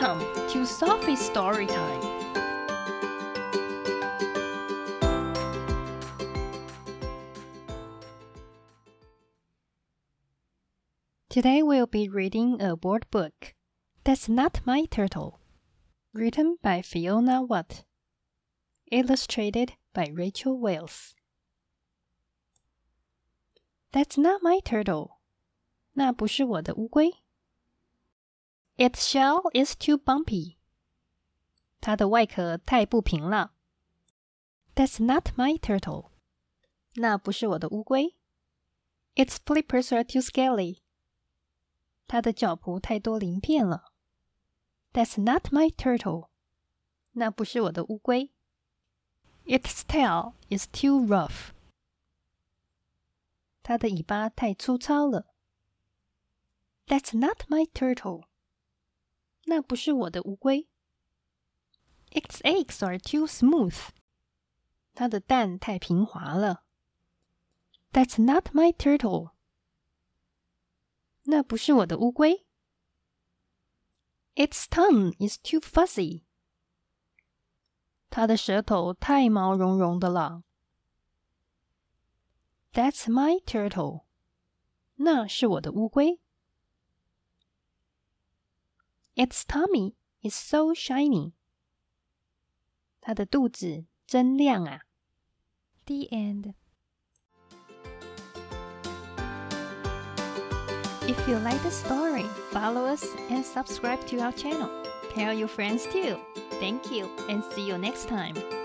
Welcome to Sophie's Story Time. Today we'll be reading a word book. That's Not My Turtle. Written by Fiona Watt. Illustrated by Rachel Wales. That's not my turtle. 那不是我的乌龟。Its shell is too bumpy. 它的外壳太不平了。That's not my turtle. 那不是我的乌龟。Its flippers are too scaly. 它的脚蹼太多鳞片了。That's not my turtle. 那不是我的乌龟。Its tail is too rough. 它的尾巴太粗糙了。That's not my turtle. 那不是我的乌龟。Its eggs are too smooth. 它的蛋太平滑了。That's not my turtle. 那不是我的乌龟。Its tongue is too fuzzy. 它的舌头太毛茸茸的了。That's my turtle. 那是我的乌龟。Its tummy is so shiny. 它的肚子真亮啊。The end. If you like the story, follow us and subscribe to our channel. Tell your friends too. Thank you and see you next time.